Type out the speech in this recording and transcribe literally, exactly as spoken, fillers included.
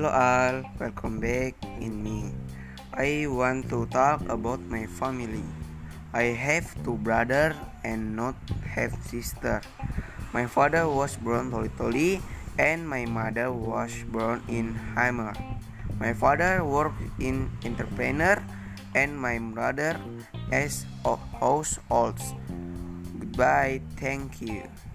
Hello all, welcome back in me. I want to talk about my family. I have two brothers and not have sister. My father was born Toli-Toli and my mother was born in Hammer. My father worked in entrepreneur and my brother as a household. Goodbye, thank you.